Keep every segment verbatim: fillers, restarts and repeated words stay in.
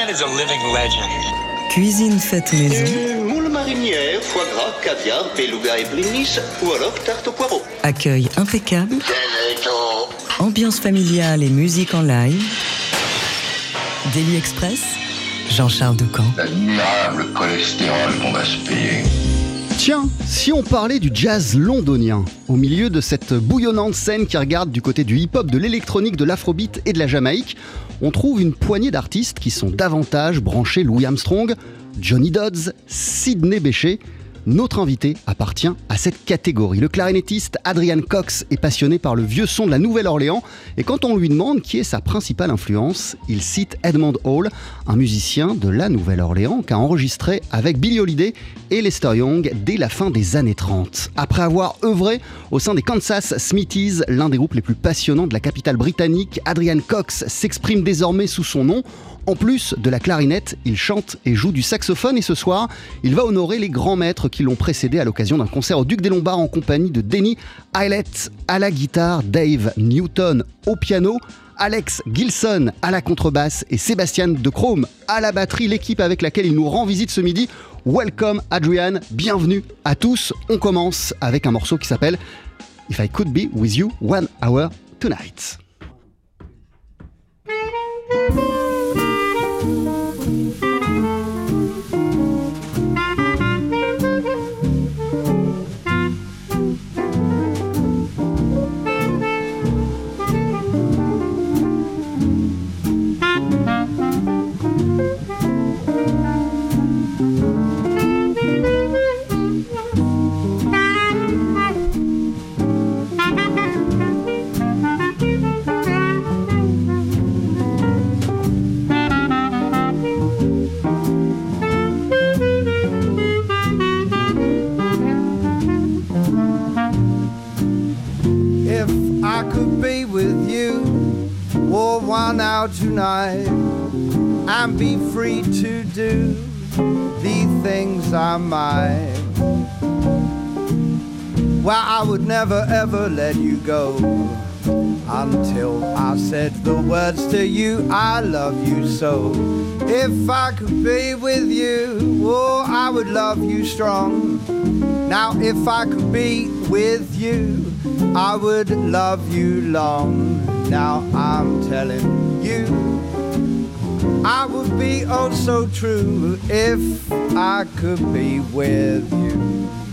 man is a living legend. Cuisine faite maison. Une moule marinière, foie gras, caviar, beluga et blinis, ou alors tarte au poireau. Accueil impeccable. Ambiance familiale et musique en live. Daily Express, Jean-Charles Doucan. L'admirable cholestérol qu'on va se payer. Tiens, si on parlait du jazz londonien, au milieu de cette bouillonnante scène qui regarde du côté du hip-hop, de l'électronique, de l'afrobeat et de la Jamaïque, on trouve une poignée d'artistes qui sont davantage branchés Louis Armstrong, Johnny Dodds, Sidney Bechet. Notre invité appartient à cette catégorie. Le clarinettiste Adrian Cox est passionné par le vieux son de la Nouvelle-Orléans et quand on lui demande qui est sa principale influence, il cite Edmond Hall, un musicien de la Nouvelle-Orléans qui a enregistré avec Billie Holiday et Lester Young dès la fin des années trente. Après avoir œuvré au sein des Kansas Smithies, l'un des groupes les plus passionnants de la capitale britannique, Adrian Cox s'exprime désormais sous son nom. En plus de la clarinette, il chante et joue du saxophone et ce soir, il va honorer les grands maîtres qui l'ont précédé à l'occasion d'un concert au Duc des Lombards en compagnie de Denny Hylett à la guitare, Dave Newton au piano, Alex Gilson à la contrebasse et Sébastien De Chrome à la batterie, l'équipe avec laquelle il nous rend visite ce midi. Welcome Adrian, bienvenue à tous. On commence avec un morceau qui s'appelle If I Could Be With You One Hour Tonight. Tonight and be free to do the things I might. Well, I would never ever let you go until I said the words to you, I love you so. If I could be with you, oh, I would love you strong. Now if I could be with you, I would love you long. Now I'm telling you, I would be oh so true if I could be with you.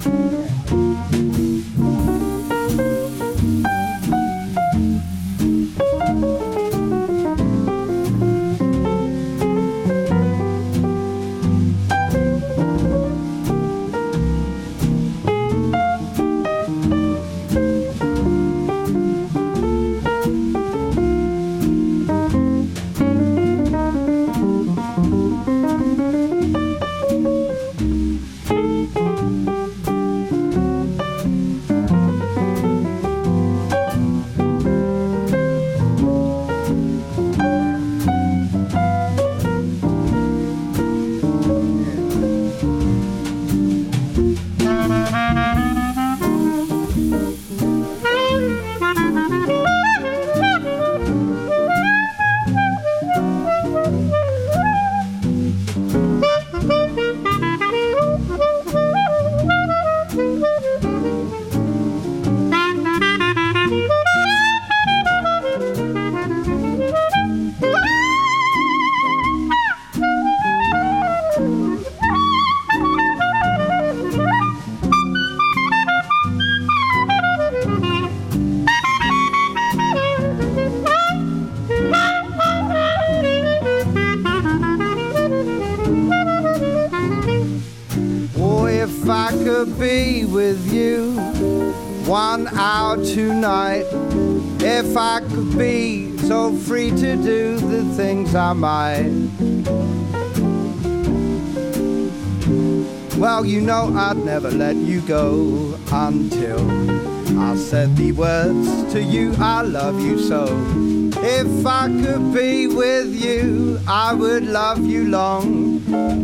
Be with you one hour tonight. If I could be so free to do the things I might. Well, you know I'd never let you go until I said the words to you, I love you so. If I could be with you, I would love you long.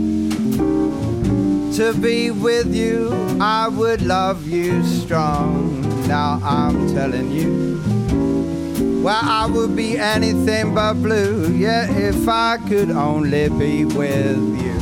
To be with you, I would love you strong. Now I'm telling you, Well, I would be anything but blue, yeah, if I could only be with you.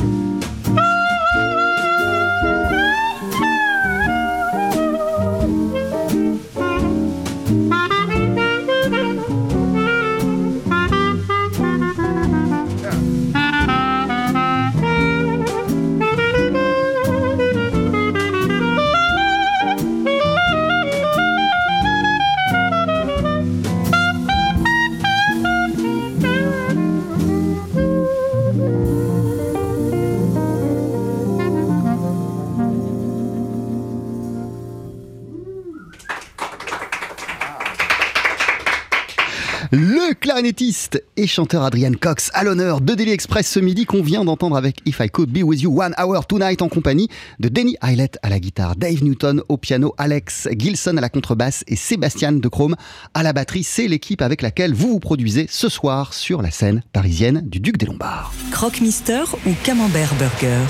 Le clarinettiste et chanteur Adrian Cox à l'honneur de Daily Express ce midi qu'on vient d'entendre avec If I Could Be With You One Hour Tonight en compagnie de Denny Hylett à la guitare, Dave Newton au piano, Alex Gilson à la contrebasse et Sébastien De Chrome à la batterie. C'est l'équipe avec laquelle vous vous produisez ce soir sur la scène parisienne du Duc des Lombards. Croque-Mister ou Camembert Burger.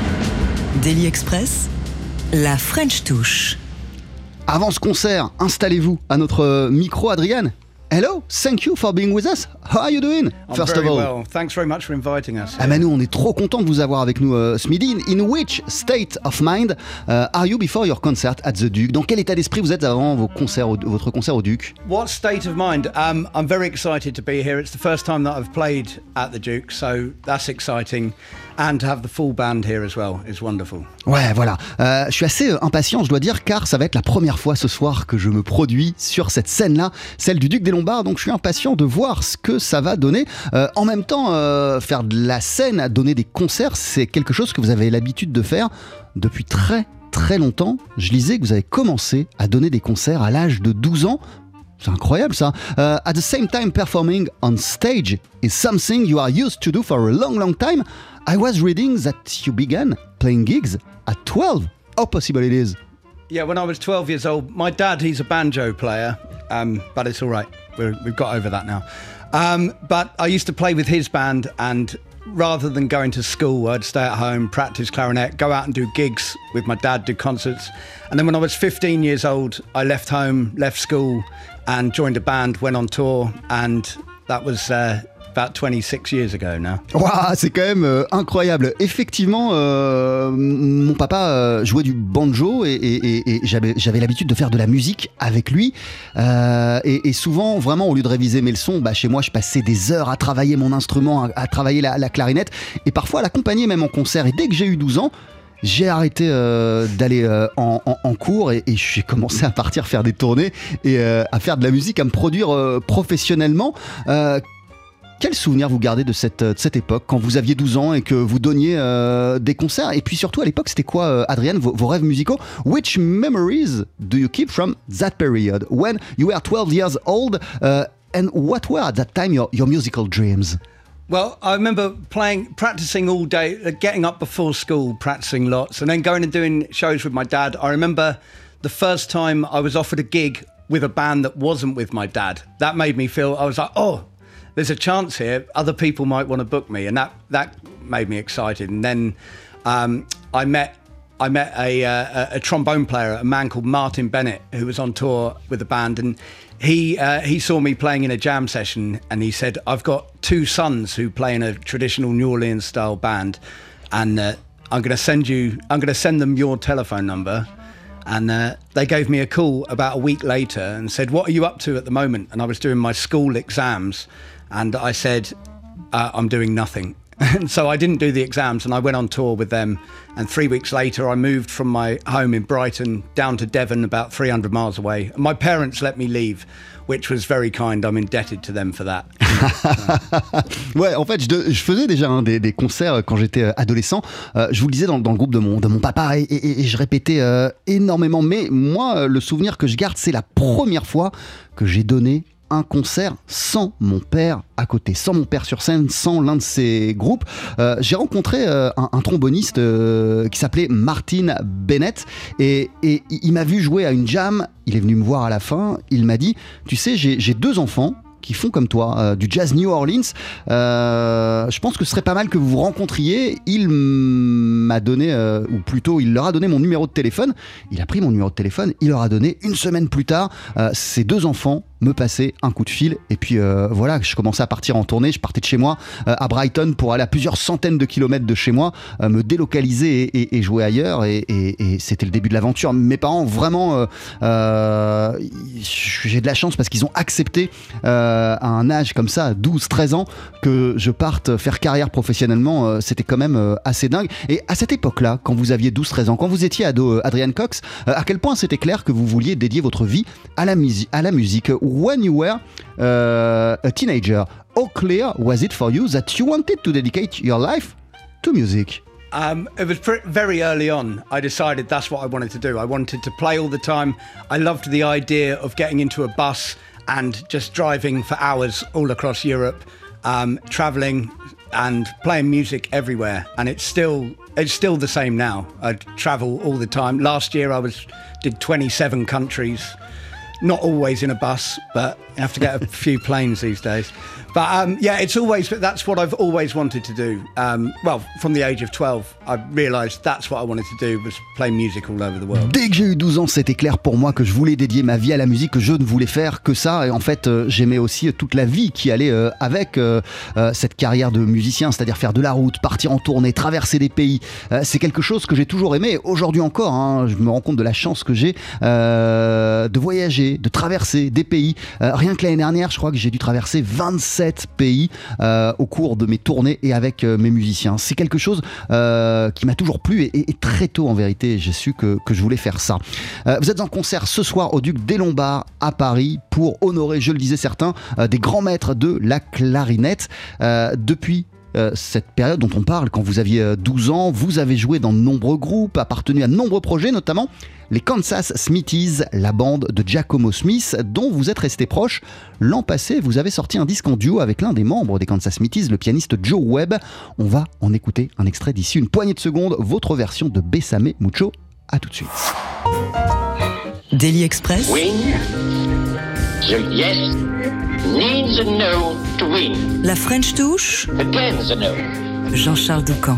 Daily Express, la French touche. Avant ce concert, installez-vous à notre micro, Adrian. Hello, thank you for being with us. How are you doing? I'm First very of all, well. Thanks very much for inviting us. ah ben nous, on est trop content de vous avoir avec nous euh, ce midi. In which state of mind uh, are you before your concert at the Duke? Dans quel état d'esprit vous êtes avant vos concerts au, votre concert au Duc? What state of mind? Um, I'm very excited to be here. It's the first time that I've played at the Duke, so that's exciting. And to have the full band here as well is wonderful. Ouais, voilà. Euh, je suis assez impatient, je dois dire, car ça va être la première fois ce soir que je me produis sur cette scène-là, celle du Duc des Lombards. Donc je suis impatient de voir ce que ça va donner. Euh, en même temps, euh, faire de la scène, donner des concerts, c'est quelque chose que vous avez l'habitude de faire depuis très très longtemps. Je lisais que vous avez commencé à donner des concerts à l'âge de douze ans. C'est incroyable ça. Uh, at the same time, performing on stage is something you are used to do for a long, long time. I was reading that you began playing gigs at twelve. How possible it is? Yeah, when I was twelve years old, my dad, he's a banjo player, um, but it's all right. We're, we've got over that now. Um, but I used to play with his band, and rather than going to school, I'd stay at home, practice clarinet, go out and do gigs with my dad, do concerts. And then when I was fifteen years old, I left home, left school, and joined a band, went on tour, and that was uh, about twenty-six years ago now. Waouh, c'est quand même euh, incroyable. Effectivement, euh, mon papa euh, jouait du banjo et, et, et, et j'avais, j'avais l'habitude de faire de la musique avec lui. Euh, et, et souvent, vraiment, au lieu de réviser mes leçons, bah, chez moi, je passais des heures à travailler mon instrument, à, à travailler la, la clarinette et parfois à l'accompagner même en concert. Et dès que j'ai eu douze ans, j'ai arrêté euh, d'aller euh, en, en, en cours et, et j'ai commencé à partir faire des tournées et euh, à faire de la musique, à me produire euh, professionnellement. Euh, Quel souvenir vous gardez de cette, de cette époque, quand vous aviez douze ans et que vous donniez euh, des concerts? Et puis surtout, à l'époque, c'était quoi, euh, Adrian, vos, vos rêves musicaux? Which memories do you keep from that period, when you were twelve years old, uh, and what were at that time your, your musical dreams? Well, I remember playing, practicing all day, uh, getting up before school, practicing lots, and then going and doing shows with my dad. I remember the first time I was offered a gig with a band that wasn't with my dad. That made me feel, I was like, oh, there's a chance here. Other people might want to book me, and that that made me excited. And then um, I met I met a, uh, a trombone player, a man called Martin Bennett, who was on tour with the band, and he uh, he saw me playing in a jam session, and he said, "I've got two sons who play in a traditional New Orleans style band, and uh, I'm going to send you, I'm going to send them your telephone number." And uh, they gave me a call about a week later and said, "What are you up to at the moment?" And I was doing my school exams, and I said, uh, "I'm doing nothing." And so I didn't do the exams, and I went on tour with them. And three weeks later, I moved from my home in Brighton down to Devon, about three hundred miles away. And my parents let me leave, which was very kind. I'm indebted to them for that. Ouais, en fait, je, je faisais déjà hein, des, des concerts quand j'étais adolescent. Euh, je vous le disais dans, dans le groupe de mon, de mon papa et, et, et je répétais euh, énormément. Mais moi, le souvenir que je garde, c'est la première fois que j'ai donné un concert sans mon père à côté, sans mon père sur scène, sans l'un de ses groupes. Euh, j'ai rencontré euh, un, un tromboniste euh, qui s'appelait Martin Bennett et, et il m'a vu jouer à une jam. Il est venu me voir à la fin. Il m'a dit, tu sais, j'ai, j'ai deux enfants qui font comme toi, euh, du jazz New Orleans. Euh, je pense que ce serait pas mal que vous vous rencontriez. Il m'a donné, euh, ou plutôt, il leur a donné mon numéro de téléphone. Il a pris mon numéro de téléphone. Il leur a donné une semaine plus tard. Euh, ses deux enfants me passer un coup de fil. Et puis euh, voilà, je commençais à partir en tournée. Je partais de chez moi euh, à Brighton pour aller à plusieurs centaines de kilomètres de chez moi, euh, me délocaliser et, et, et jouer ailleurs. Et, et, et c'était le début de l'aventure. Mes parents, vraiment, euh, euh, j'ai de la chance parce qu'ils ont accepté euh, à un âge comme ça, douze treize ans, que je parte faire carrière professionnellement. Euh, c'était quand même euh, assez dingue. Et à cette époque-là, quand vous aviez douze treize ans, quand vous étiez ado, euh, Adrian Cox, euh, à quel point c'était clair que vous vouliez dédier votre vie à la, musi- à la musique. When you were uh, a teenager, how clear was it for you that you wanted to dedicate your life to music? Um, it was pre- very early on. I decided that's what I wanted to do. I wanted to play all the time. I loved the idea of getting into a bus and just driving for hours all across Europe, um, traveling and playing music everywhere. And it's still it's still the same now. I travel all the time. Last year I was did twenty-seven countries. Not always in a bus, but you have to get a few planes these days. But um, yeah, it's always, that's what I've always wanted to do. Um, well, from the age of twelve, I realised that's what I wanted to do, was play music all over the world. Dès que j'ai eu douze ans, c'était clair pour moi que je voulais dédier ma vie à la musique, que je ne voulais faire que ça. Et en fait, euh, j'aimais aussi toute la vie qui allait euh, avec euh, euh, cette carrière de musicien, c'est-à-dire faire de la route, partir en tournée, traverser des pays. Euh, c'est quelque chose que j'ai toujours aimé. Aujourd'hui encore, hein, je me rends compte de la chance que j'ai euh, de voyager, de traverser des pays. Euh, rien que l'année dernière, je crois que j'ai dû traverser vingt-sept pays euh, au cours de mes tournées et avec euh, mes musiciens. C'est quelque chose euh, qui m'a toujours plu et, et, et très tôt en vérité, j'ai su que, que je voulais faire ça. Euh, vous êtes en concert ce soir au Duc des Lombards à Paris pour honorer, je le disais certains, euh, des grands maîtres de la clarinette. Euh, depuis Euh, cette période dont on parle, quand vous aviez euh, douze ans, vous avez joué dans de nombreux groupes, appartenu à de nombreux projets, notamment les Kansas Smithies, la bande de Giacomo Smith, dont vous êtes resté proche. L'an passé, vous avez sorti un disque en duo avec l'un des membres des Kansas Smithies, le pianiste Joe Webb. On va en écouter un extrait d'ici une poignée de secondes, votre version de Bésame Mucho. À tout de suite. Daily Express. Win. The yes needs a no to win. La French Touch. Again's a no. Jean-Charles Doucan.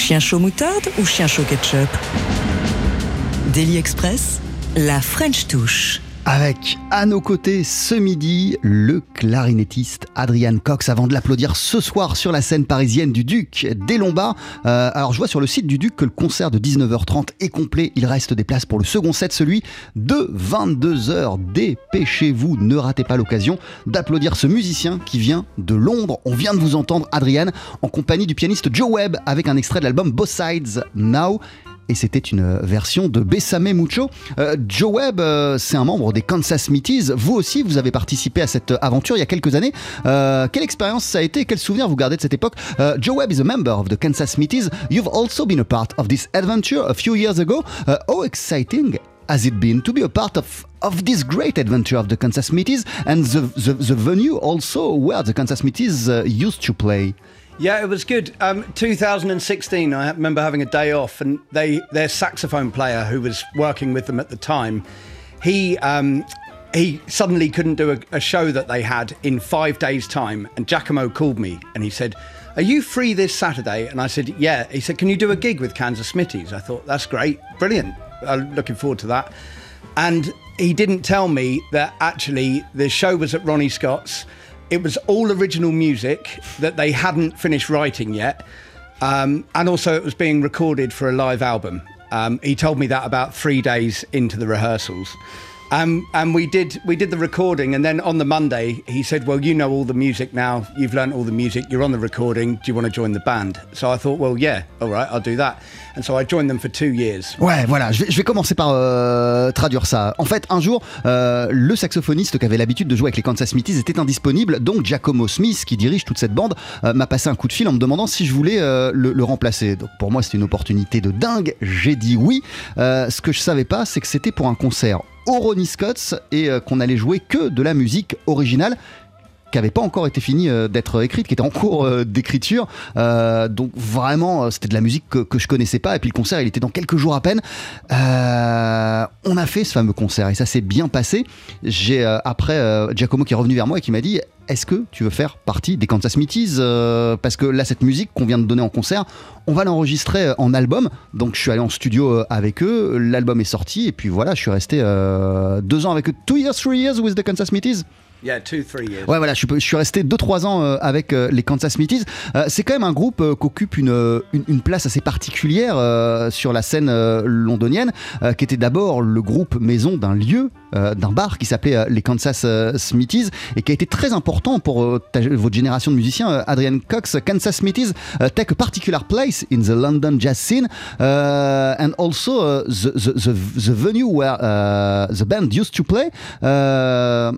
Chien chaud moutarde ou chien chaud ketchup? Daily Express, la French touche. Avec à nos côtés ce midi le clarinettiste Adrian Cox, avant de l'applaudir ce soir sur la scène parisienne du Duc des Lombards. Euh, alors je vois sur le site du Duc que le concert de dix-neuf heures trente est complet. Il reste des places pour le second set, celui de vingt-deux heures. Dépêchez-vous, ne ratez pas l'occasion d'applaudir ce musicien qui vient de Londres. On vient de vous entendre, Adrian, en compagnie du pianiste Joe Webb avec un extrait de l'album Both Sides Now. Et c'était une version de Bésame Mucho. Euh, Joe Webb, euh, c'est un membre des Kansas Smithies. Vous aussi, vous avez participé à cette aventure il y a quelques années. Euh, quelle expérience ça a été? Quel souvenir vous gardez de cette époque? uh, Joe Webb is a member of the Kansas Smithies. You've also been a part of this adventure a few years ago. Uh, how exciting has it been to be a part of, of this great adventure of the Kansas Smithies and the, the, the venue also where the Kansas Smithies uh, used to play? Yeah, it was good. Um, two thousand sixteen, I remember having a day off, and they their saxophone player, who was working with them at the time, he um, he suddenly couldn't do a, a show that they had in five days' time. And Giacomo called me, and he said, "Are you free this Saturday?" And I said, "Yeah." He said, "Can you do a gig with Kansas Smithies?" I thought, "That's great, brilliant. I'm looking forward to that." And he didn't tell me that actually the show was at Ronnie Scott's. It was all original music that they hadn't finished writing yet. Um, and also it was being recorded for a live album. Um, he told me that about three days into the rehearsals. Um, and we did we did the recording, and then on the Monday he said, "Well, you know all the music now, you've learnt all the music, you're on the recording, do you want to join the band?" So I thought, well, yeah, all right, I'll do that. And so I joined them for two years. Ouais, voilà, je vais, je vais commencer par euh, traduire ça. En fait, un jour, euh, le saxophoniste qui avait l'habitude de jouer avec les Kansas Smithies était indisponible, donc Giacomo Smith, qui dirige toute cette bande, euh, m'a passé un coup de fil en me demandant si je voulais euh, le, le remplacer. Donc pour moi, c'était une opportunité de dingue, j'ai dit oui. Euh, ce que je savais pas, c'est que c'était pour un concert au Ronnie Scott's et euh, qu'on allait jouer que de la musique originale qui n'avait pas encore été finie euh, d'être écrite, qui était en cours euh, d'écriture. Euh, donc vraiment, euh, c'était de la musique que, que je connaissais pas. Et puis le concert, il était dans quelques jours à peine. Euh, on a fait ce fameux concert et ça s'est bien passé. J'ai euh, après euh, Giacomo qui est revenu vers moi et qui m'a dit: est-ce que tu veux faire partie des Kansas Smithies? euh, Parce que là, cette musique qu'on vient de donner en concert, on va l'enregistrer en album. Donc je suis allé en studio avec eux, l'album est sorti et puis voilà, je suis resté euh, deux ans avec eux. Two years, three years with the Kansas Smithies. Yeah, two, three years. Ouais, voilà, je suis, je suis resté deux trois ans euh, avec euh, les Kansas Smithies. Euh, c'est quand même un groupe euh, qui occupe une, une, une place assez particulière euh, sur la scène euh, londonienne, euh, qui était d'abord le groupe maison d'un lieu, euh, d'un bar qui s'appelait euh, les Kansas euh, Smithies et qui a été très important pour euh, ta, votre génération de musiciens. euh, Adrian Cox, Kansas Smithies uh, take a particular place in the London jazz scene uh, and also uh, the, the, the, the venue where uh, the band used to play. Uh,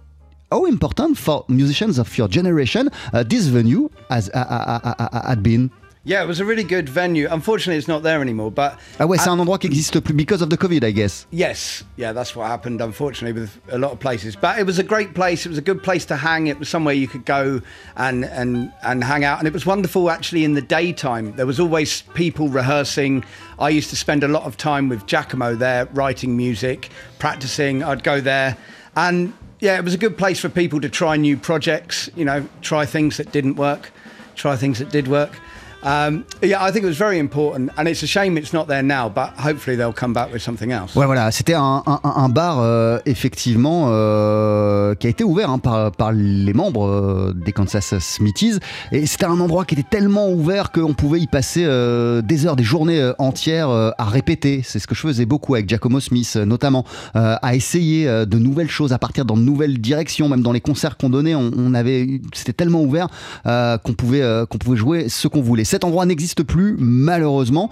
How important for musicians of your generation uh, this venue has uh, uh, uh, uh, had been? Yeah, it was a really good venue. Unfortunately, it's not there anymore. But ah ouais, c'est un endroit qui n'existe plus because of the COVID, I guess. Yes, yeah, that's what happened. Unfortunately, with a lot of places. But it was a great place. It was a good place to hang. It was somewhere you could go and and and hang out. And it was wonderful, actually, in the daytime. There was always people rehearsing. I used to spend a lot of time with Giacomo there, writing music, practicing. I'd go there, and yeah, it was a good place for people to try new projects, you know, try things that didn't work, try things that did work. Um, yeah, I think it was very important, and it's a shame it's not there now, but hopefully they'll come back with something else. Ouais, voilà, c'était un, un, un bar euh, effectivement euh, qui a été ouvert hein, par, par les membres euh, des Kansas Smithies, et c'était un endroit qui était tellement ouvert qu'on pouvait y passer euh, des heures, des journées euh, entières euh, à répéter. C'est ce que je faisais beaucoup avec Giacomo Smith, euh, notamment euh, à essayer euh, de nouvelles choses, à partir dans de nouvelles directions. Même dans les concerts qu'on donnait, on, on avait, c'était tellement ouvert euh, qu'on pouvait, euh, qu'on pouvait jouer ce qu'on voulait. Cet endroit n'existe plus, malheureusement.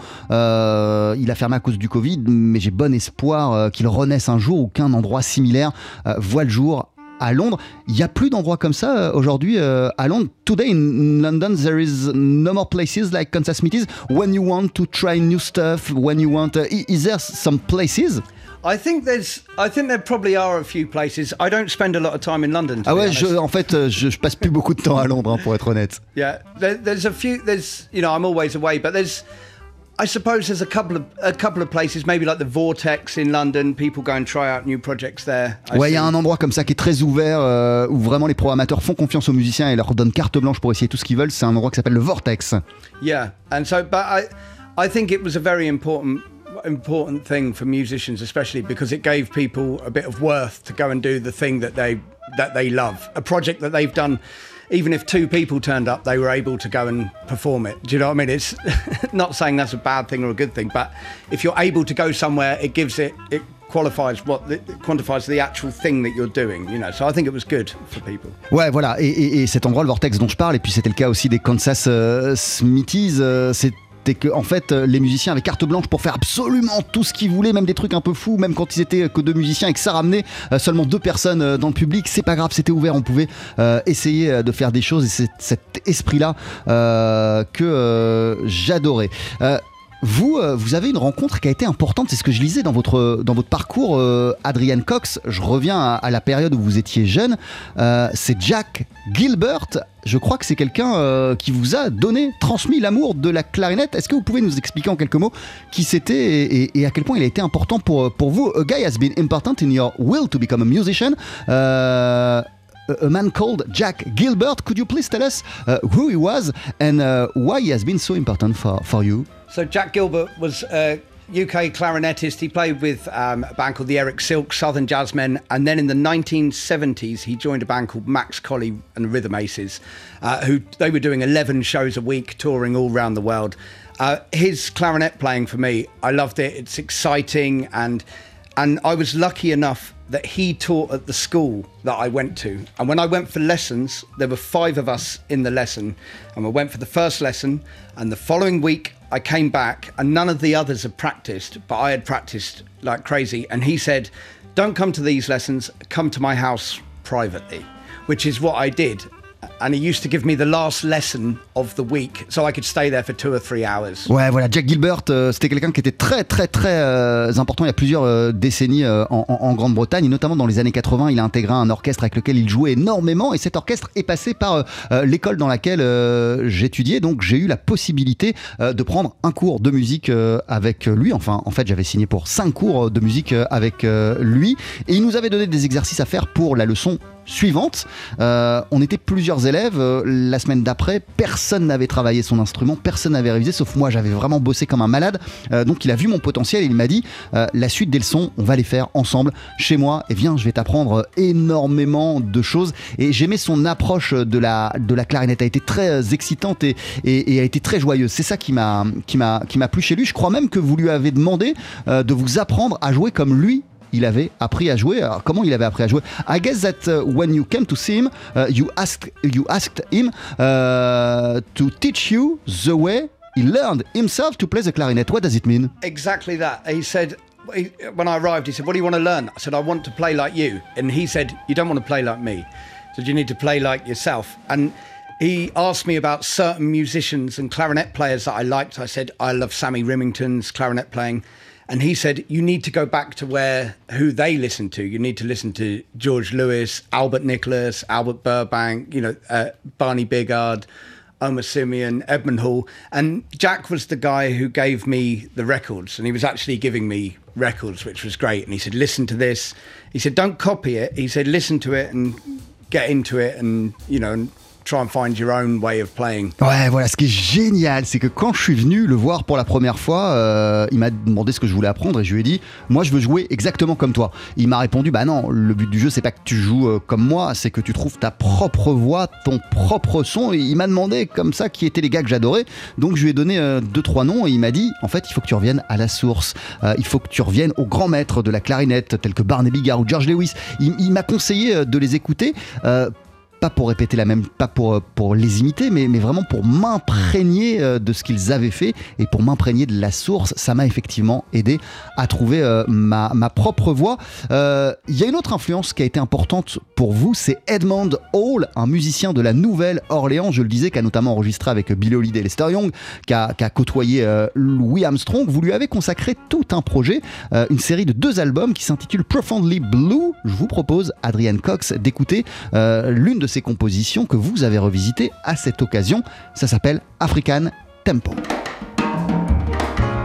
Euh, il a fermé à cause du Covid, mais j'ai bon espoir euh, qu'il renaisse un jour ou qu'un endroit similaire euh, voit le jour à Londres. Il n'y a plus d'endroits comme ça euh, aujourd'hui euh, à Londres. Today in London, there is no more places like Kansas Smithies. When you want to try new stuff, when you want... Uh, is there some places? I think there's, I think there probably are a few places. I don't spend a lot of time in London. Ah ouais, je, en fait, je, je passe plus beaucoup de temps à Londres, hein, pour être honnête. Yeah, there, there's a few. There's, you know, I'm always away, but there's. I suppose there's a couple of a couple of places, maybe like the Vortex in London. People go and try out new projects there. I ouais, il y a see. un endroit comme ça qui est très ouvert, euh, où vraiment les programmateurs font confiance aux musiciens et leur donnent carte blanche pour essayer tout ce qu'ils veulent. C'est un endroit qui s'appelle le Vortex. Yeah, and so, but I, I think it was a very important important thing for musicians, especially because it gave people a bit of worth to go and do the thing that they that they love, a project that they've done. Even if two people turned up, they were able to go and perform it. Do you know what I mean? It's not saying that's a bad thing or a good thing, but if you're able to go somewhere, it gives it, it qualifies what, the, it quantifies the actual thing that you're doing, you know. So I think it was good for people. Ouais, voilà. Et, et, et cet endroit, le Vortex dont je parle, et puis c'était le cas aussi des Kansas euh, Smithies, euh, c'est c'est que en fait les musiciens avaient carte blanche pour faire absolument tout ce qu'ils voulaient, même des trucs un peu fous, même quand ils étaient que deux musiciens et que ça ramenait euh, seulement deux personnes euh, dans le public, c'est pas grave, c'était ouvert, on pouvait euh, essayer euh, de faire des choses, et c'est cet esprit là euh, que euh, j'adorais. Euh, Vous, euh, vous avez une rencontre qui a été importante, c'est ce que je lisais dans votre, dans votre parcours, euh, Adrian Cox. Je reviens à, à la période où vous étiez jeune. Euh, c'est Jack Gilbert. Je crois que c'est quelqu'un euh, qui vous a donné, transmis l'amour de la clarinette. Est-ce que vous pouvez nous expliquer en quelques mots qui c'était et, et, et à quel point il a été important pour, pour vous? A guy has been important in your will to become a musician. Uh, A man called Jack Gilbert. Could you please tell us uh, who he was and uh, why he has been so important for, for you? So Jack Gilbert was a U K clarinetist. He played with um, a band called the Eric Silk Southern Jazzmen, and then in the nineteen seventies he joined a band called Max Colley and the Rhythm Aces, uh, who they were doing eleven shows a week, touring all around the world. Uh, his clarinet playing for me, I loved it. It's exciting, and and I was lucky enough that he taught at the school that I went to. And when I went for lessons, there were five of us in the lesson, and we went for the first lesson, and the following week I came back and none of the others had practiced, but I had practiced like crazy. And he said, don't come to these lessons, come to my house privately, which is what I did. And he used to give me the last lesson of the week, so I could stay there for two or three hours. Ouais, voilà, Jack Gilbert, euh, c'était quelqu'un qui était très, très, très euh, important il y a plusieurs euh, décennies euh, en, en, en Grande-Bretagne, et notamment dans les années quatre-vingts, il a intégré un orchestre avec lequel il jouait énormément, et cet orchestre est passé par euh, l'école dans laquelle euh, j'étudiais, donc j'ai eu la possibilité euh, de prendre un cours de musique euh, avec lui. Enfin, en fait, j'avais signé pour cinq cours de musique euh, avec euh, lui, et il nous avait donné des exercices à faire pour la leçon suivante. Euh, on était plusieurs élèves. Euh, la semaine d'après, personne n'avait travaillé son instrument, personne n'avait révisé, sauf moi. J'avais vraiment bossé comme un malade. Euh, donc il a vu mon potentiel et il m'a dit euh, la suite des leçons, on va les faire ensemble chez moi. Et viens, je vais t'apprendre énormément de choses. Et j'aimais son approche de la, de la clarinette. Elle a été très excitante et, et, et elle a été très joyeuse. C'est ça qui m'a, qui m'a, qui m'a plu chez lui. Je crois même que vous lui avez demandé euh, de vous apprendre à jouer comme lui il avait appris à jouer. Alors, comment il avait appris à jouer? I guess that uh, when you came to see him, uh, you asked you asked him uh, to teach you the way he learned himself to play the clarinet. What does it mean? Exactly that. He said, he, when I arrived, he said, what do you want to learn? I said, I want to play like you. And he said, you don't want to play like me. He said, you need to play like yourself. And he asked me about certain musicians and clarinet players that I liked. I said, I love Sammy Rimington's clarinet playing. And he said, you need to go back to where, who they listen to. You need to listen to George Lewis, Albert Nicholas, Albert Burbank, you know, uh, Barney Bigard, Omar Simeon, Edmund Hall. And Jack was the guy who gave me the records. And he was actually giving me records, which was great. And he said, listen to this. He said, don't copy it. He said, listen to it and get into it and, you know, and try and find your own way of playing. Ouais, voilà, ce qui est génial, c'est que quand je suis venu le voir pour la première fois, euh, il m'a demandé ce que je voulais apprendre et je lui ai dit, moi je veux jouer exactement comme toi. Il m'a répondu, bah non, le but du jeu c'est pas que tu joues euh, comme moi, c'est que tu trouves ta propre voix, ton propre son. Et il m'a demandé comme ça qui étaient les gars que j'adorais, donc je lui ai donné euh, deux trois noms et il m'a dit, en fait il faut que tu reviennes à la source, euh, il faut que tu reviennes aux grands maîtres de la clarinette tels que Barney Bigard ou George Lewis. Il, il m'a conseillé de les écouter. Euh, pas pour répéter la même, pas pour, pour les imiter, mais, mais vraiment pour m'imprégner de ce qu'ils avaient fait et pour m'imprégner de la source. Ça m'a effectivement aidé à trouver euh, ma, ma propre voix. Il euh, y a une autre influence qui a été importante pour vous, c'est Edmond Hall, un musicien de la Nouvelle-Orléans, je le disais, qui a notamment enregistré avec Billie Holiday et Lester Young, qui a, qui a côtoyé euh, Louis Armstrong. Vous lui avez consacré tout un projet, euh, une série de deux albums qui s'intitule Profoundly Blue. Je vous propose, Adrian Cox, d'écouter euh, l'une de ces compositions que vous avez revisitées à cette occasion. Ça s'appelle African Tempo.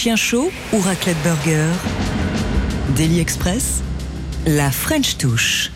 chien chaud ou raclette burger? Daily Express, la French touche.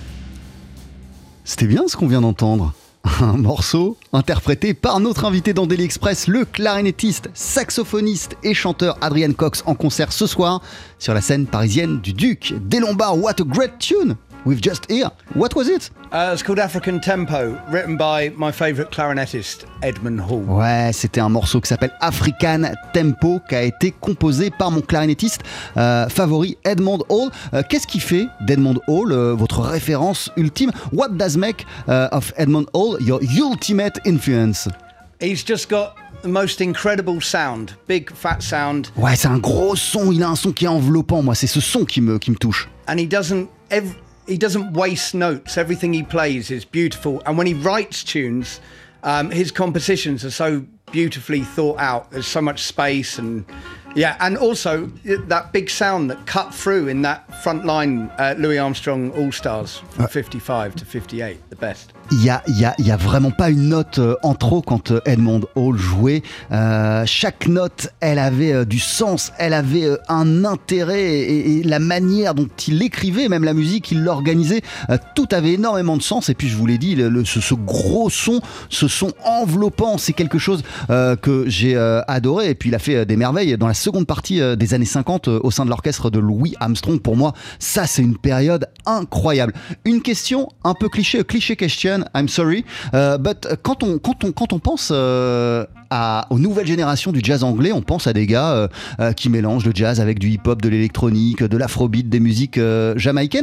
C'était bien ce qu'on vient d'entendre. Un morceau interprété par notre invité dans Daily Express, le clarinettiste, saxophoniste et chanteur Adrian Cox en concert ce soir sur la scène parisienne du Duc des Lombards. What a great tune we've just heard. What was it? Uh, it's called African Tempo, written by my favourite clarinettist, Edmund Hall. Ouais, c'était un morceau qui s'appelle African Tempo, qui a été composé par mon clarinettiste euh, favori, Edmund Hall. Euh, qu'est-ce qui fait d'Edmund Hall euh, votre référence ultime? What does make uh, of Edmund Hall your ultimate influence? He's just got the most incredible sound, big fat sound. Ouais, c'est un gros son, il a un son qui est enveloppant, moi, c'est ce son qui me, qui me touche. And he doesn't... Ev- He doesn't waste notes. Everything he plays is beautiful. And when he writes tunes, um, his compositions are so beautifully thought out. There's so much space and yeah, and also that big sound that cut through in that front line uh, Louis Armstrong All-Stars from fifty-five to fifty-eight, the best. Il y a, y a, y a vraiment pas une note euh, en trop quand euh, Edmund Hall jouait. Euh, chaque note, elle avait euh, du sens, elle avait euh, un intérêt et, et la manière dont il écrivait, même la musique, il l'organisait, euh, tout avait énormément de sens. Et puis je vous l'ai dit, le, le, ce, ce gros son, ce son enveloppant, c'est quelque chose euh, que j'ai euh, adoré. Et puis il a fait euh, des merveilles dans la seconde partie euh, des années cinquante euh, au sein de l'orchestre de Louis Armstrong. Pour moi, ça c'est une période incroyable. Une question un peu cliché, cliché question. I'm sorry, uh, but quand on, quand on, quand on pense euh, à, aux nouvelles générations du jazz anglais, on pense à des gars euh, euh, qui mélangent le jazz avec du hip-hop, de l'électronique, de l'afrobeat, des musiques euh, jamaïcaines.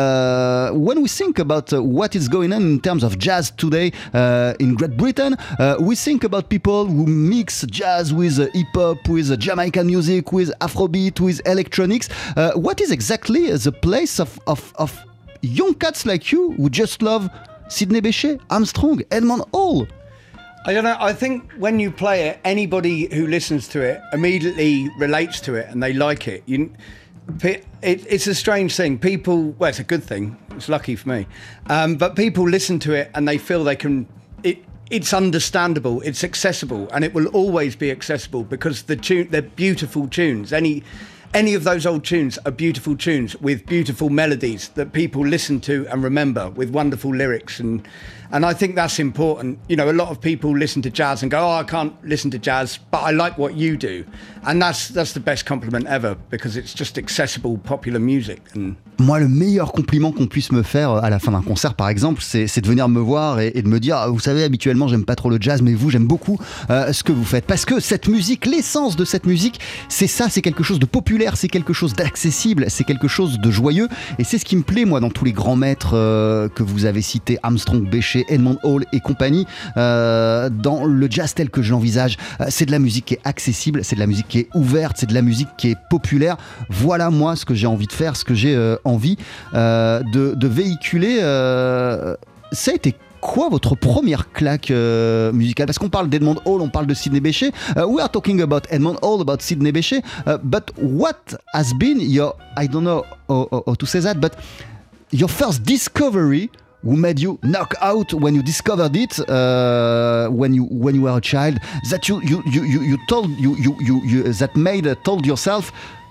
Uh, when we think about what is going on in terms of jazz today uh, in Great Britain, uh, we think about people who mix jazz with uh, hip-hop, with uh, Jamaican music, with afrobeat, with electronics. Uh, what is exactly the place of, of, of young cats like you who just love Sidney Bechet, Armstrong, Edmund Hall? I don't know. I think when you play it, anybody who listens to it immediately relates to it and they like it. You, it it's a strange thing. People, well, it's a good thing. It's lucky for me. Um, but people listen to it and they feel they can. It it's understandable. It's accessible, and it will always be accessible because the tune, they're beautiful tunes. Any. Any of those old tunes are beautiful tunes with beautiful melodies that people listen to and remember, with wonderful lyrics, and and I think that's important. You know, a lot of people listen to jazz and go, "Oh, I can't listen to jazz, but I like what you do," and that's that's the best compliment ever because it's just accessible, popular music. And moi, le meilleur compliment qu'on puisse me faire à la fin d'un concert, par exemple, c'est, c'est de venir me voir et, et de me dire, vous savez, habituellement, j'aime pas trop le jazz, mais vous, j'aime beaucoup euh, ce que vous faites, parce que cette musique, l'essence de cette musique, c'est ça, c'est quelque chose de populaire, c'est quelque chose d'accessible, c'est quelque chose de joyeux, et c'est ce qui me plaît, moi, dans tous les grands maîtres euh, que vous avez cités, Armstrong, Bechet, Edmund Hall et compagnie, euh, dans le jazz tel que je l'envisage, euh, c'est de la musique qui est accessible, c'est de la musique qui est ouverte, c'est de la musique qui est populaire. Voilà, moi, ce que j'ai envie de faire, ce que j'ai euh, envie euh, de, de véhiculer. Euh, ça a été quoi votre première claque euh, musicale? Parce qu'on parle d'Edmund Hall, on parle de Sidney Bechet. Uh, we are talking about Edmund Hall, about Sidney Bechet. Uh, but what has been your, I don't know how, how, how to say that, but your first discovery who made you knock out when you discovered it uh, when you when you were a child, that you you you you, you told you you you, you that made uh, told yourself,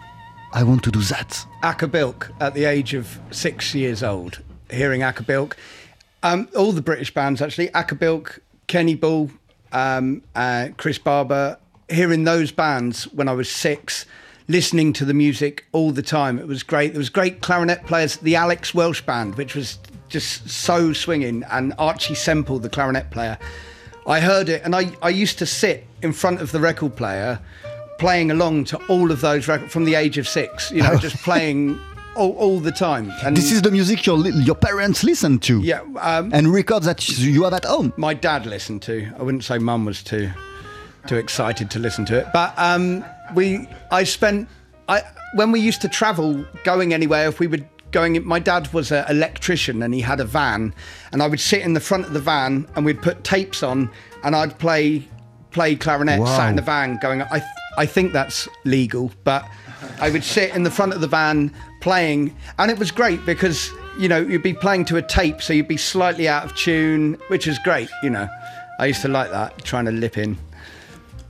I want to do that? Acker-Bilk at the age of six years old, hearing Acker-Bilk. Um, all the British bands, actually, Acker-Bilk, Kenny Ball, um, uh, Chris Barber, hearing those bands when I was six, listening to the music all the time. It was great. There was great clarinet players, the Alex Welsh Band, which was just so swinging, and Archie Semple, the clarinet player. I heard it, and I, I used to sit in front of the record player playing along to all of those records from the age of six, you know, oh. just playing all, all the time. And this is the music your your parents listened to? Yeah. Um, and records that you have at home? My dad listened to. I wouldn't say mum was too too excited to listen to it. But um, we, I spent, I when we used to travel, going anywhere, if we were going, my dad was an electrician and he had a van, and I would sit in the front of the van and we'd put tapes on and I'd play play clarinet, wow. sat in the van going, I, th- I think that's legal, but I would sit in the front of the van playing, and it was great because, you know, you'd be playing to a tape, so you'd be slightly out of tune, which is great, you know. I used to like that, trying to lip in.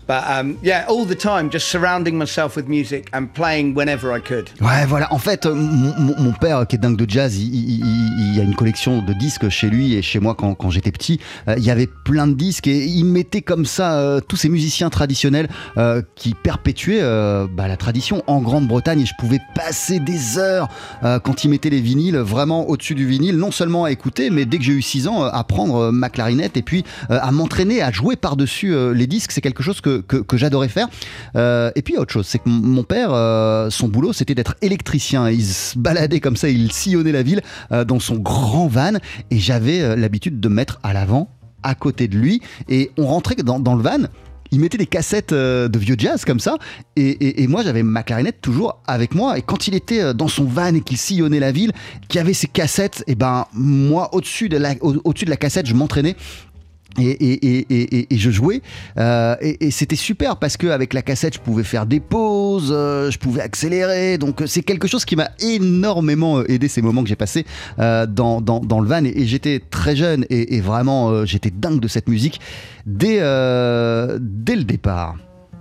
But um, yeah, all the time, just surrounding myself with music and playing whenever I could. Ouais, voilà. En fait, mon, mon, mon père, qui est dingue de jazz, il, il, il, il a une collection de disques chez lui et chez moi quand, quand j'étais petit. Euh, il y avait plein de disques et il mettait comme ça euh, tous ces musiciens traditionnels euh, qui perpétuaient euh, bah, la tradition en Grande-Bretagne. Et je pouvais passer des heures euh, quand il mettait les vinyles vraiment au-dessus du vinyle, non seulement à écouter, mais dès que j'ai eu six ans, à prendre ma clarinette et puis euh, à m'entraîner à jouer par-dessus euh, les disques. C'est quelque chose que Que, que j'adorais faire. Euh, et puis il y a autre chose, c'est que mon père, euh, son boulot, c'était d'être électricien. Il se baladait comme ça, il sillonnait la ville euh, dans son grand van et j'avais euh, l'habitude de me mettre à l'avant, à côté de lui. Et on rentrait dans, dans le van, il mettait des cassettes euh, de vieux jazz comme ça et, et, et moi j'avais ma clarinette toujours avec moi. Et quand il était dans son van et qu'il sillonnait la ville, qu'il y avait ses cassettes, et ben moi au-dessus de la, au, au-dessus de la cassette, je m'entraînais. Et, et, et, et, et je jouais euh, et, et c'était super parce qu'avec la cassette je pouvais faire des pauses, euh, je pouvais accélérer, donc c'est quelque chose qui m'a énormément aidé ces moments que j'ai passés euh, dans, dans, dans le van et, et j'étais très jeune et, et vraiment euh, j'étais dingue de cette musique dès, euh, dès le départ.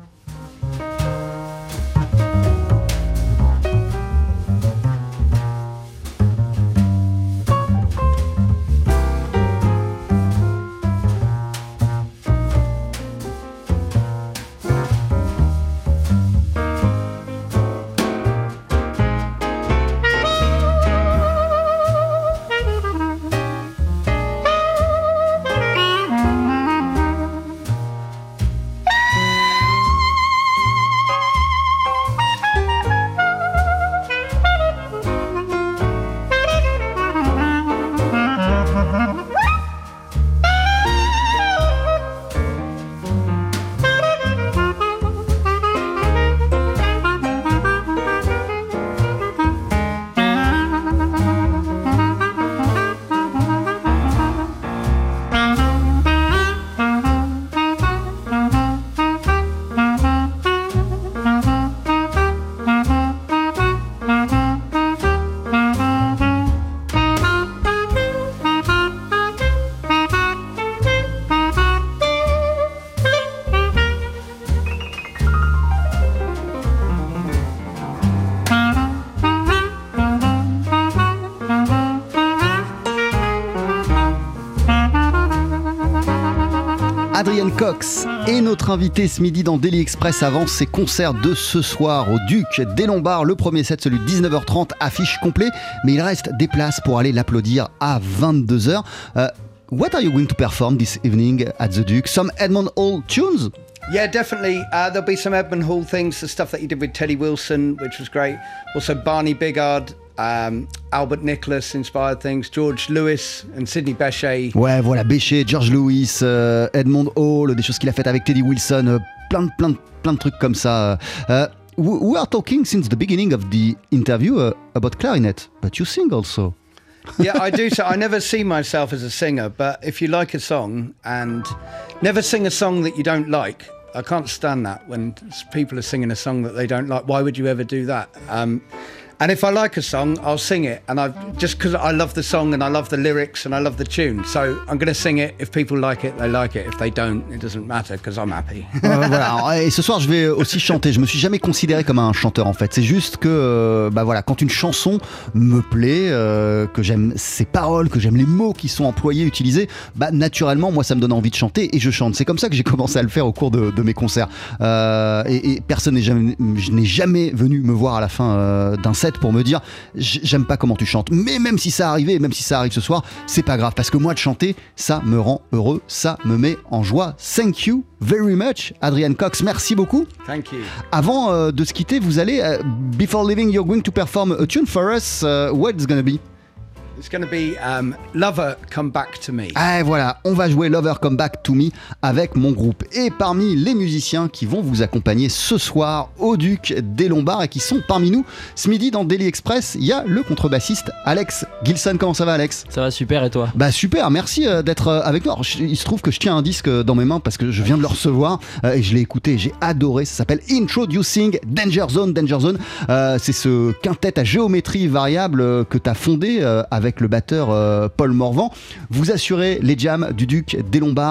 Adrian Cox est notre invité ce midi dans Daily Express avant ses concerts de ce soir au Duc des Lombards. Le premier set, celui de dix-neuf heures trente, affiche complet, mais il reste des places pour aller l'applaudir à vingt-deux heures. Uh, what are you going to perform this evening at the Duc? Some Edmond Hall tunes? Yeah, definitely. Uh, there'll be some Edmond Hall things, the stuff that he did with Teddy Wilson, which was great. Also Barney Bigard, um, Albert Nicholas inspired things, George Lewis and Sidney Bechet. Ouais, voilà, Bechet, George Lewis, euh, Edmond Hall, des choses qu'il a faites avec Teddy Wilson, euh, plein, de, plein, de, plein de trucs comme ça. Uh, we are talking since the beginning of the interview uh, about clarinet, but you sing also. Yeah, I do. So I never see myself as a singer, but if you like a song, and never sing a song that you don't like. I can't stand that when people are singing a song that they don't like. Why would you ever do that? Um, and if I like a song, I'll sing it. And I just because I love the song and I love the lyrics and I love the tune. So I'm going to sing it. If people like it, they like it. If they don't, it doesn't matter because I'm happy. euh, voilà. Et ce soir, je vais aussi chanter. Je me suis jamais considéré comme un chanteur en fait. C'est juste que, euh, bah voilà, quand une chanson me plaît, euh, que j'aime ses paroles, que j'aime les mots qui sont employés, utilisés, bah naturellement, moi, ça me donne envie de chanter et je chante. C'est comme ça que j'ai commencé à le faire au cours de, de mes concerts. Euh, et, et personne n'est jamais, je n'ai jamais venu me voir à la fin euh, d'un set pour me dire j'aime pas comment tu chantes, mais même si ça arrivait, même si ça arrive ce soir, c'est pas grave parce que moi de chanter, ça me rend heureux, ça me met en joie. Thank you very much, Adrian Cox, merci beaucoup. Thank you. Avant euh, de se quitter, vous allez, uh, before leaving, you're going to perform a tune for us. Uh, what it's gonna be? It's going to be um, Lover Come Back to Me. Ah voilà, on va jouer Lover Come Back to Me avec mon groupe. Et parmi les musiciens qui vont vous accompagner ce soir au Duc des Lombards et qui sont parmi nous ce midi dans Daily Express, il y a le contrebassiste Alex Gilson. Comment ça va, Alex? Ça va super, et toi? Bah super, merci d'être avec nous. Alors, il se trouve que je tiens un disque dans mes mains parce que je viens de le recevoir et je l'ai écouté, j'ai adoré. Ça s'appelle Introducing Danger Zone. Danger Zone, euh, c'est ce quintet à géométrie variable que tu as fondé avec avec le batteur euh, Paul Morvan. Vous assurez les jams du Duc des Lombards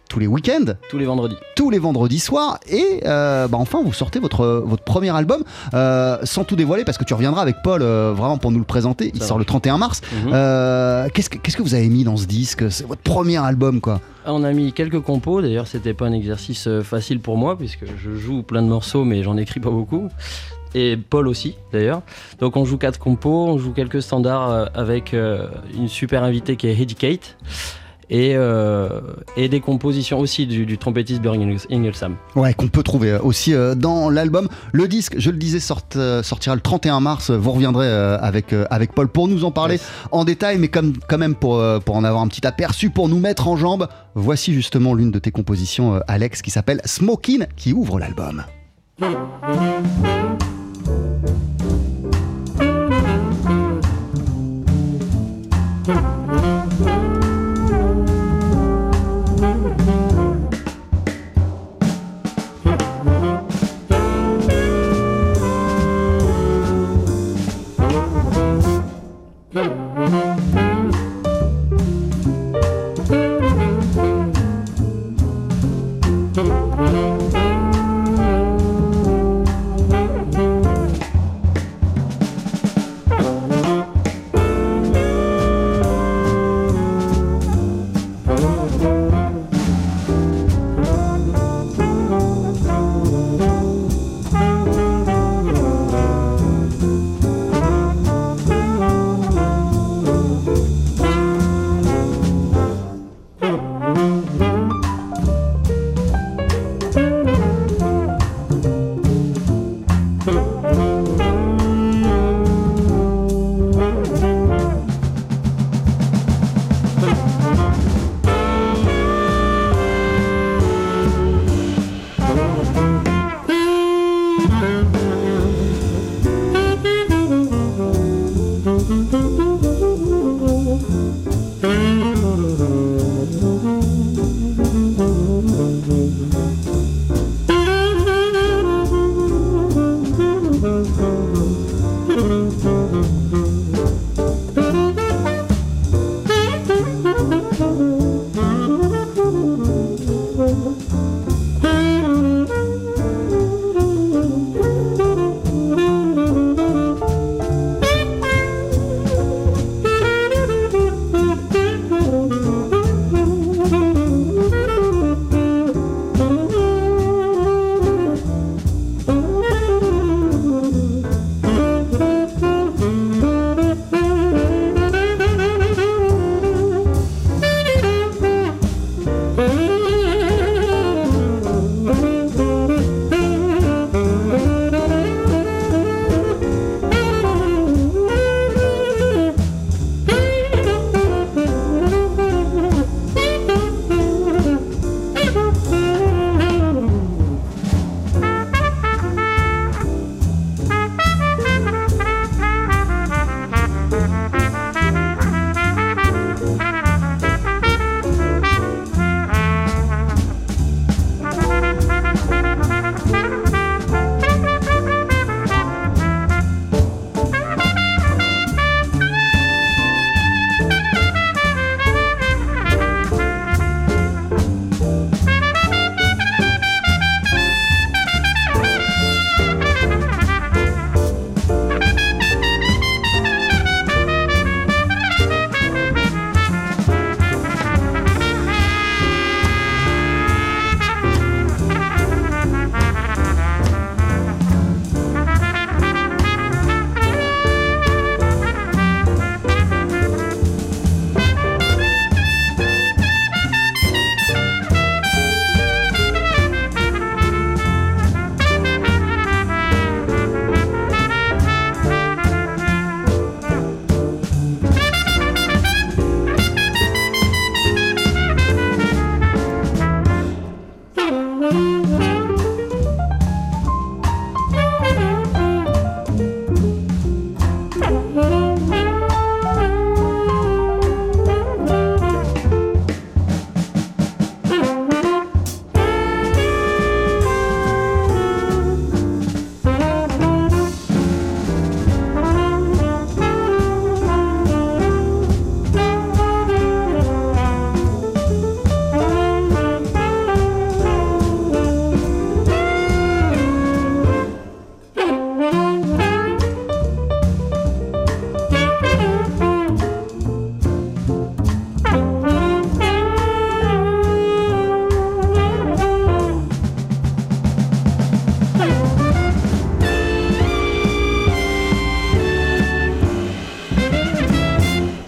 tous les week-ends, tous les vendredis. tous les vendredis soirs, et euh, bah enfin vous sortez votre, votre premier album, euh, sans tout dévoiler, parce que tu reviendras avec Paul euh, vraiment pour nous le présenter. Il Ça sort va. le trente et un mars. Mhm. Euh, qu'est-ce, que, qu'est-ce que vous avez mis dans ce disque? C'est votre premier album, quoi. Ah, on a mis quelques compos, d'ailleurs c'était pas un exercice euh, facile pour moi puisque je joue plein de morceaux mais j'en écris pas beaucoup. Et Paul aussi d'ailleurs. Donc on joue quatre compos, on joue quelques standards euh, avec euh, une super invitée qui est Heidi Kate. Et, euh, et des compositions aussi du, du trompettiste Björn Ingelsam. Ouais, qu'on peut trouver aussi euh, dans l'album. Le disque, je le disais, sort, euh, sortira le trente et un mars. Vous reviendrez euh, avec, euh, avec Paul pour nous en parler Yes. en détail, mais comme, quand même pour, euh, pour en avoir un petit aperçu, pour nous mettre en jambes. Voici justement l'une de tes compositions, euh, Alex, qui s'appelle Smokin', qui ouvre l'album.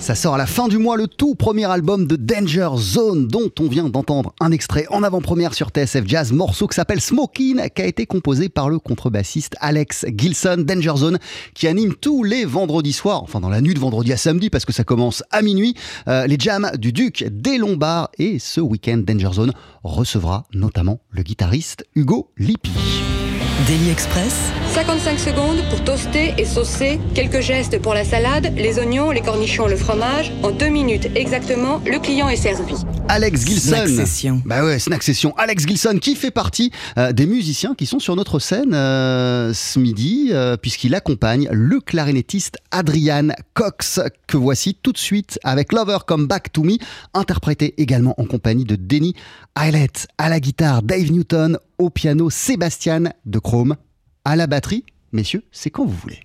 Ça sort à la fin du mois, le tout premier album de Danger Zone, dont on vient d'entendre un extrait en avant-première sur T S F Jazz, morceau qui s'appelle Smokin', qui a été composé par le contrebassiste Alex Gilson. Danger Zone qui anime tous les vendredis soirs, enfin dans la nuit de vendredi à samedi parce que ça commence à minuit, euh, les jams du Duc des Lombards. Et ce week-end, Danger Zone recevra notamment le guitariste Hugo Lippi. Daily Express, cinquante-cinq secondes pour toaster et saucer. Quelques gestes pour la salade, les oignons, les cornichons, le fromage. En deux minutes exactement, le client est servi. Alex Gilson. Snack Session. Bah ouais, Snack Session. Alex Gilson qui fait partie euh, des musiciens qui sont sur notre scène euh, ce midi, euh, puisqu'il accompagne le clarinettiste Adrian Cox, que voici tout de suite avec Lover Come Back to Me, interprété également en compagnie de Denny Eilert. À la guitare, Dave Newton. Au piano, Sébastien de Chrome. À la batterie, messieurs, c'est quand vous voulez.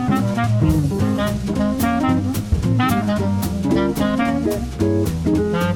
Thank you.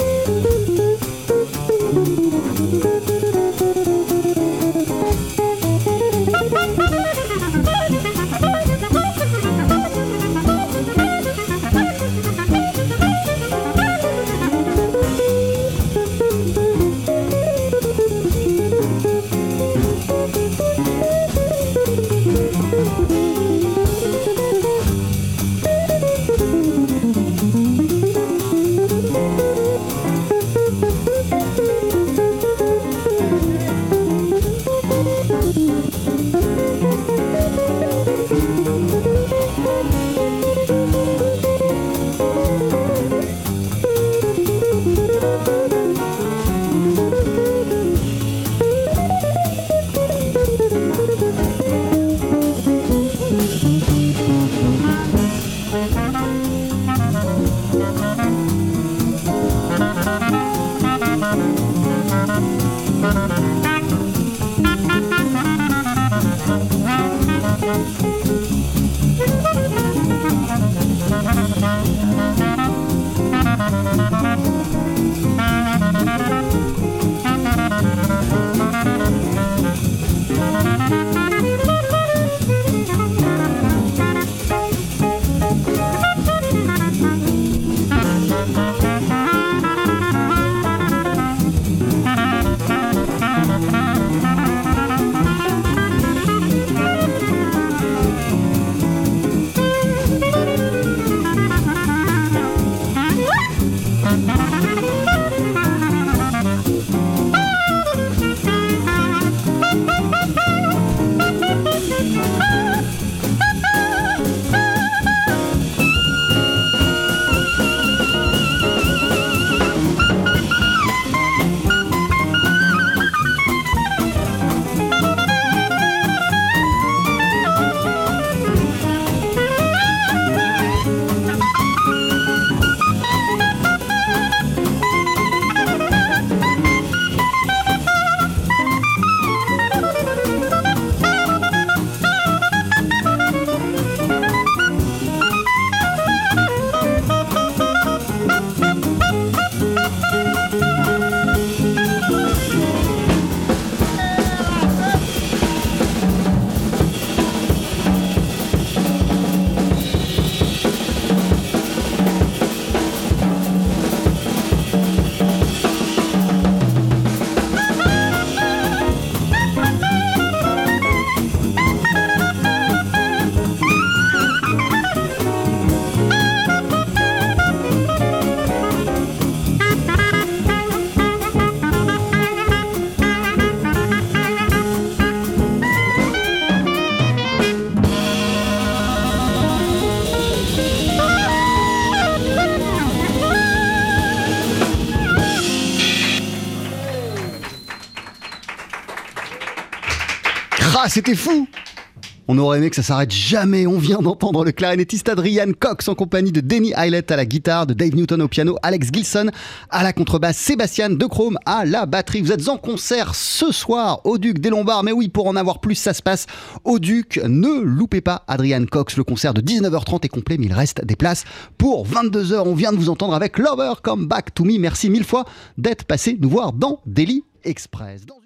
Ah, c'était fou! On aurait aimé que ça s'arrête jamais. On vient d'entendre le clarinettiste Adrian Cox en compagnie de Denny Hylett à la guitare, de Dave Newton au piano, Alex Gilson à la contrebasse, Sébastien De Chrome à la batterie. Vous êtes en concert ce soir au Duc des Lombards. Mais oui, pour en avoir plus, ça se passe au Duc. Ne loupez pas Adrian Cox. Le concert de dix-neuf heures trente est complet, mais il reste des places pour vingt-deux heures. On vient de vous entendre avec Lover Come Back to Me. Merci mille fois d'être passé nous voir dans Daily Express. Dans